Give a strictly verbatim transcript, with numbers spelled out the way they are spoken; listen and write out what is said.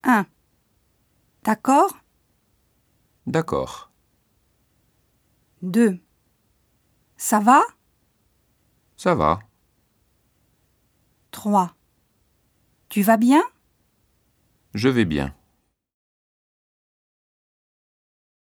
un. D'accord? D'accord. deux. Ça va? Ça va. trois. Tu vas bien? Je vais bien.